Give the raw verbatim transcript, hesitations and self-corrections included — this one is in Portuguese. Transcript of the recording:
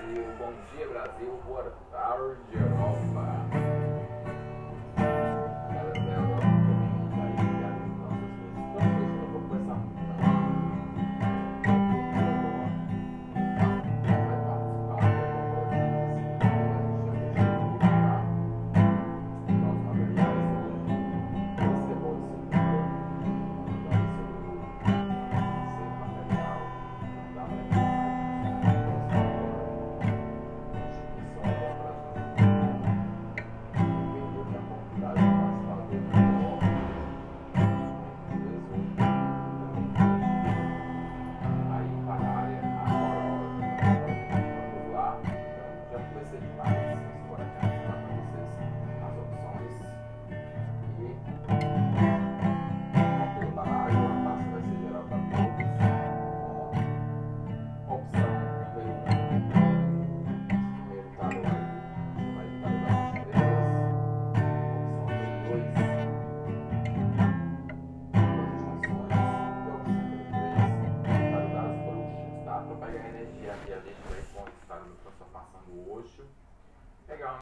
Brasil, bom dia Brasil, boa tarde Europa. Galera da Europa também vai ligar nas nossas questões, eu vou começar muito. Vai participar da nós materiais hoje. Esse é bom esse material da energia e a gente vai estar no transformação do Osho. Legal.